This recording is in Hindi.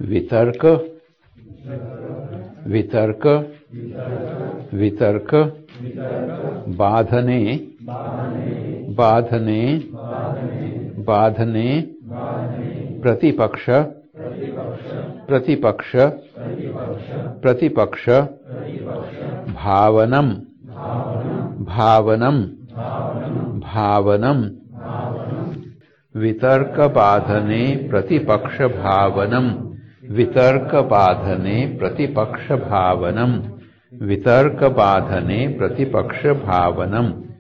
वितर्क वितर्क वितर्क बाधने बाधने बाधने प्रतिपक्ष प्रतिपक्ष प्रतिपक्ष भावनम भावनम भावनम वितर्क बाधने प्रतिपक्ष भावनम वितर्क बाधने प्रतिपक्ष भावनम वितर्क बाधने प्रतिपक्ष भावनम